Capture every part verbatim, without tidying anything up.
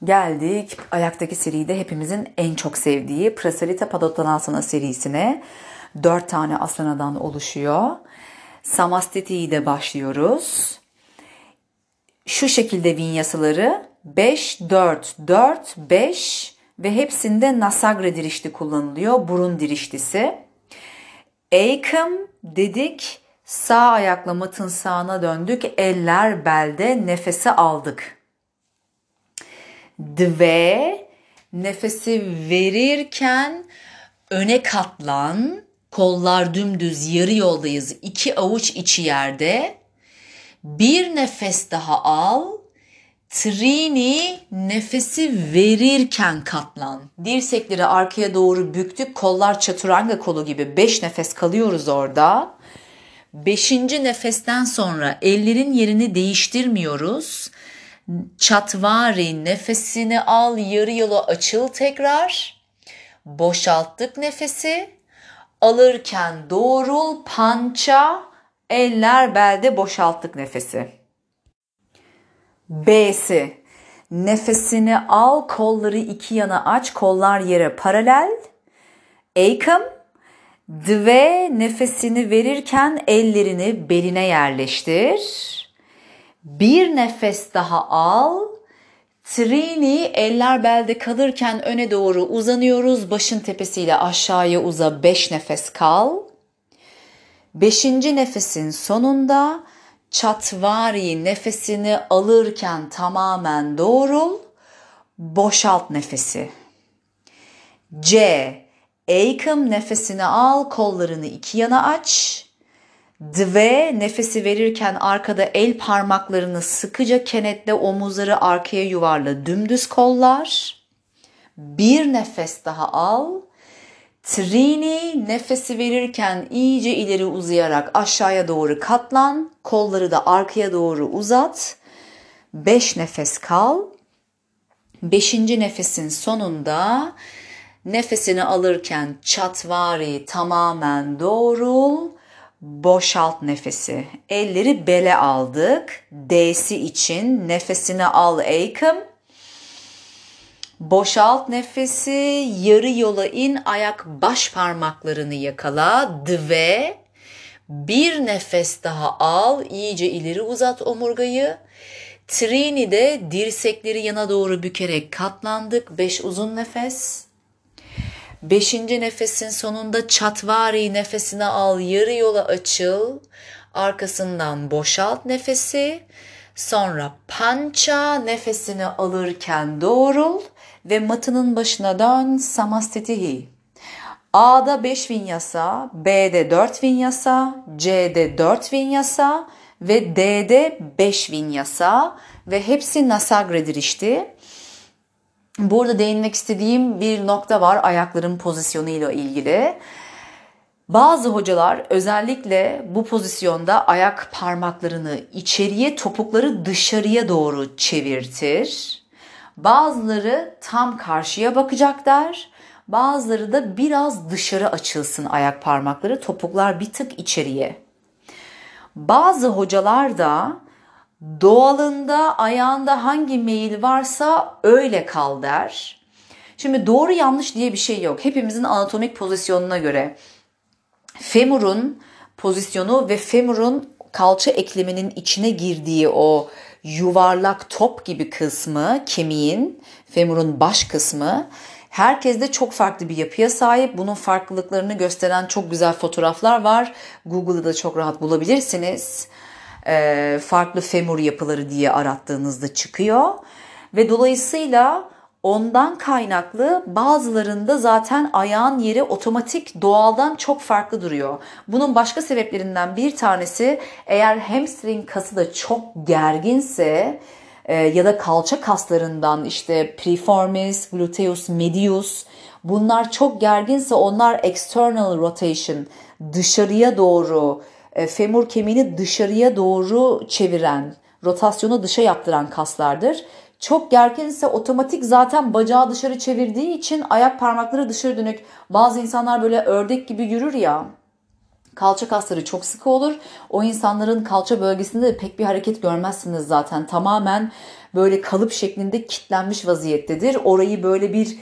Geldik ayaktaki seride hepimizin en çok sevdiği Prasarita Padottanasana serisine. Dört tane asanadan oluşuyor. Samastiti ile başlıyoruz. Şu şekilde vinyasaları beş, dört, dört, beş ve hepsinde Nasagra dirişti kullanılıyor. Burun diriştisi. Ekam dedik. Sağ ayakla matın sağına döndük. Eller belde, nefesi aldık. Dve, nefesi verirken öne katlan, kollar dümdüz, yarı yoldayız. İki avuç içi yerde. Bir nefes daha al. Trini, nefesi verirken katlan. Dirsekleri arkaya doğru büktük. Kollar çaturanga kolu gibi. Beş nefes kalıyoruz orada. Beşinci nefesten sonra ellerin yerini değiştirmiyoruz. Çatvari, nefesini al, yarı yola açıl tekrar. Boşalttık nefesi. Alırken doğrul, pança, eller belde, boşalttık nefesi. B'si. Nefesini al, kolları iki yana aç, kollar yere paralel. Ekam. Dve, nefesini verirken ellerini beline yerleştir. Bir nefes daha al. Trini, eller belde kalırken öne doğru uzanıyoruz. Başın tepesiyle aşağıya uza. Beş nefes kal. Beşinci nefesin sonunda çatvari, nefesini alırken tamamen doğrul. Boşalt nefesi. C. Ekam, nefesini al, kollarını iki yana aç. Dve, nefesi verirken arkada el parmaklarını sıkıca kenetle, omuzları arkaya yuvarla, dümdüz kollar. Bir nefes daha al. Trini, nefesi verirken iyice ileri uzayarak aşağıya doğru katlan. Kolları da arkaya doğru uzat. Beş nefes kal. Beşinci nefesin sonunda nefesini alırken çatvari, tamamen doğrul. Boşalt nefesi. Elleri bele aldık. D'si için nefesini al Ekam. Boşalt nefesi. Yarı yola in. Ayak baş parmaklarını yakala. Dve. Bir nefes daha al. İyice ileri uzat omurgayı. Trini'de dirsekleri yana doğru bükerek katlandık. Beş uzun nefes. Beşinci nefesin sonunda çatvari, nefesini al, yarı yola açıl. Arkasından boşalt nefesi. Sonra pança, nefesini alırken doğrul ve matının başına dön. Samastitihi. A'da beş vinyasa, B'de dört vinyasa, C'de dört vinyasa ve D'de beş vinyasa ve hepsi Nasagra dirişti. Burada değinmek istediğim bir nokta var ayakların pozisyonuyla ilgili. Bazı hocalar özellikle bu pozisyonda ayak parmaklarını içeriye, topukları dışarıya doğru çevirtir. Bazıları tam karşıya bakacaklar. Bazıları da biraz dışarı açılsın ayak parmakları, topuklar bir tık içeriye. Bazı hocalar da doğalında ayağında hangi meyil varsa öyle kal der. Şimdi doğru yanlış diye bir şey yok. Hepimizin anatomik pozisyonuna göre femurun pozisyonu ve femurun kalça ekleminin içine girdiği o yuvarlak top gibi kısmı, kemiğin, femurun baş kısmı herkeste çok farklı bir yapıya sahip. Bunun farklılıklarını gösteren çok güzel fotoğraflar var. Google'da da çok rahat bulabilirsiniz. E, farklı femur yapıları diye arattığınızda çıkıyor. Ve dolayısıyla ondan kaynaklı bazılarında zaten ayağın yeri otomatik doğaldan çok farklı duruyor. Bunun başka sebeplerinden bir tanesi, eğer hamstring kası da çok gerginse e, ya da kalça kaslarından işte piriformis, gluteus medius, bunlar çok gerginse onlar external rotation, dışarıya doğru, e, femur kemiğini dışarıya doğru çeviren, rotasyonu dışa yaptıran kaslardır. Çok gerginse otomatik zaten bacağı dışarı çevirdiği için ayak parmakları dışarı dönük. Bazı insanlar böyle ördek gibi yürür ya. Kalça kasları çok sıkı olur. O insanların kalça bölgesinde de pek bir hareket görmezsiniz zaten. Tamamen böyle kalıp şeklinde kilitlenmiş vaziyettedir. Orayı böyle bir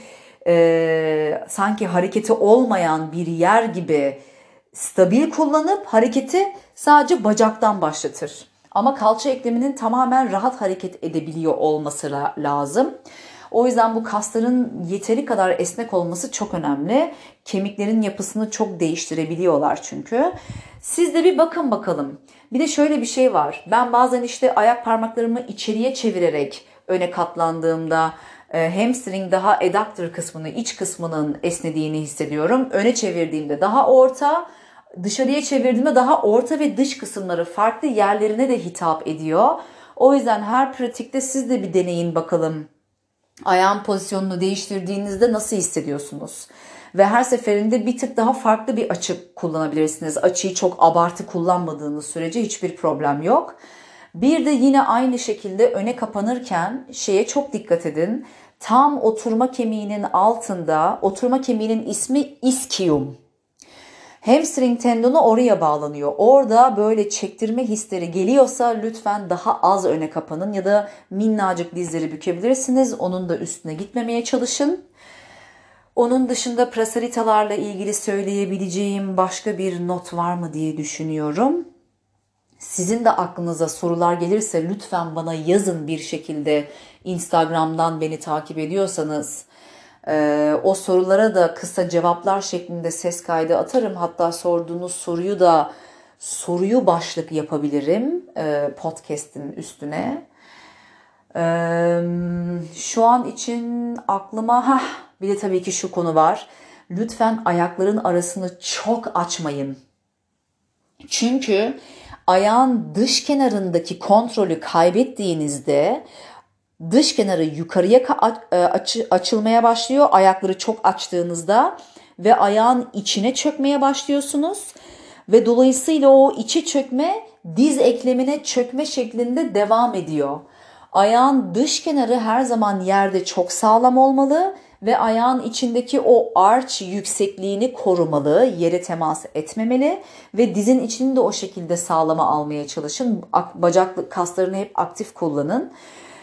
e, sanki hareketi olmayan bir yer gibi stabil kullanıp hareketi sadece bacaktan başlatır. Ama kalça ekleminin tamamen rahat hareket edebiliyor olması la- lazım. O yüzden bu kasların yeteri kadar esnek olması çok önemli. Kemiklerin yapısını çok değiştirebiliyorlar çünkü. Siz de bir bakın bakalım. Bir de şöyle bir şey var. Ben bazen işte ayak parmaklarımı içeriye çevirerek öne katlandığımda e, hamstring daha adductor kısmını, iç kısmının esnediğini hissediyorum. Öne çevirdiğimde daha orta, dışarıya çevirdiğimde daha orta ve dış kısımları farklı yerlerine de hitap ediyor. O yüzden her pratikte siz de bir deneyin bakalım. Ayağın pozisyonunu değiştirdiğinizde nasıl hissediyorsunuz? Ve her seferinde bir tık daha farklı bir açı kullanabilirsiniz. Açıyı çok abartı kullanmadığınız sürece hiçbir problem yok. Bir de yine aynı şekilde öne kapanırken şeye çok dikkat edin. Tam oturma kemiğinin altında, oturma kemiğinin ismi ischium. Hamstring tendonu oraya bağlanıyor. Orada böyle çektirme hisleri geliyorsa lütfen daha az öne kapanın ya da minnacık dizleri bükebilirsiniz. Onun da üstüne gitmemeye çalışın. Onun dışında prasaritalarla ilgili söyleyebileceğim başka bir not var mı diye düşünüyorum. Sizin de aklınıza sorular gelirse lütfen bana yazın bir şekilde. Instagram'dan beni takip ediyorsanız. Ee, o sorulara da kısa cevaplar şeklinde ses kaydı atarım. Hatta sorduğunuz soruyu da soruyu başlık yapabilirim e, podcast'in üstüne. Ee, şu an için aklıma heh, bir de tabii ki şu konu var. Lütfen ayakların arasını çok açmayın. Çünkü ayağın dış kenarındaki kontrolü kaybettiğinizde dış kenarı yukarıya aç, açılmaya başlıyor. Ayakları çok açtığınızda ve ayağın içine çökmeye başlıyorsunuz. Ve dolayısıyla o içe çökme diz eklemine çökme şeklinde devam ediyor. Ayağın dış kenarı her zaman yerde çok sağlam olmalı ve ayağın içindeki o arch yüksekliğini korumalı, yere temas etmemeli ve dizin içini de o şekilde sağlama almaya çalışın. Bacak kaslarını hep aktif kullanın.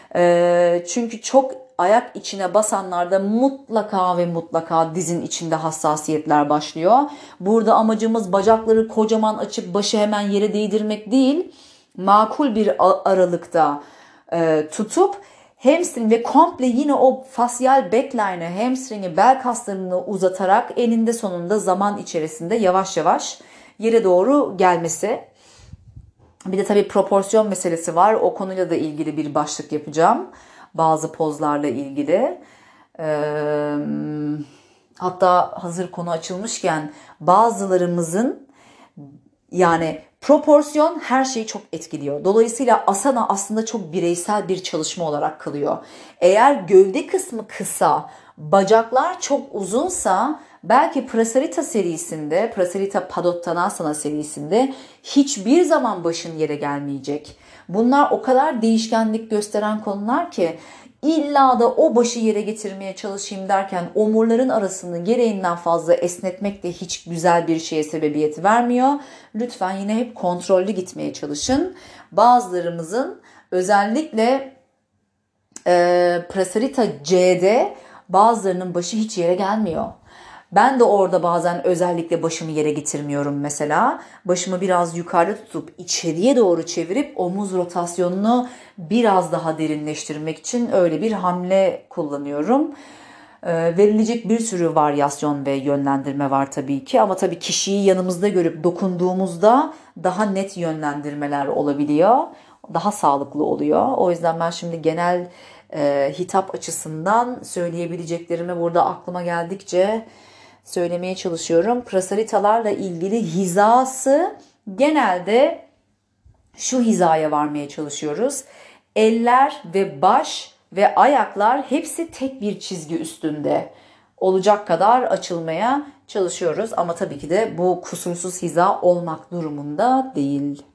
Çünkü çok ayak içine basanlarda mutlaka ve mutlaka dizin içinde hassasiyetler başlıyor. Burada amacımız bacakları kocaman açıp başı hemen yere değdirmek değil. Makul bir aralıkta tutup hamstring ve komple yine o fasyal backline'ı, hamstring'i, bel kaslarını uzatarak eninde sonunda zaman içerisinde yavaş yavaş yere doğru gelmesi. Bir de tabii proporsiyon meselesi var. O konuyla da ilgili bir başlık yapacağım. Bazı pozlarla ilgili. Ee, hatta hazır konu açılmışken bazılarımızın yani proporsiyon her şeyi çok etkiliyor. Dolayısıyla asana aslında çok bireysel bir çalışma olarak kalıyor. Eğer gövde kısmı kısa, bacaklar çok uzunsa belki Prasarita serisinde, Prasarita Padottanasana serisinde hiçbir zaman başın yere gelmeyecek. Bunlar o kadar değişkenlik gösteren konular ki illa da o başı yere getirmeye çalışayım derken omurların arasını gereğinden fazla esnetmek de hiç güzel bir şeye sebebiyet vermiyor. Lütfen yine hep kontrollü gitmeye çalışın. Bazılarımızın özellikle e, Prasarita C'de bazılarının başı hiç yere gelmiyor. Ben de orada bazen özellikle başımı yere getirmiyorum mesela. Başımı biraz yukarıda tutup içeriye doğru çevirip omuz rotasyonunu biraz daha derinleştirmek için öyle bir hamle kullanıyorum. Ee, verilecek bir sürü varyasyon ve yönlendirme var tabii ki. Ama tabii kişiyi yanımızda görüp dokunduğumuzda daha net yönlendirmeler olabiliyor. Daha sağlıklı oluyor. O yüzden ben şimdi genel e, hitap açısından söyleyebileceklerimi burada aklıma geldikçe söylemeye çalışıyorum. Prasaritalarla ilgili hizası genelde şu hizaya varmaya çalışıyoruz. Eller ve baş ve ayaklar hepsi tek bir çizgi üstünde olacak kadar açılmaya çalışıyoruz. Ama tabii ki de bu kusursuz hiza olmak durumunda değil.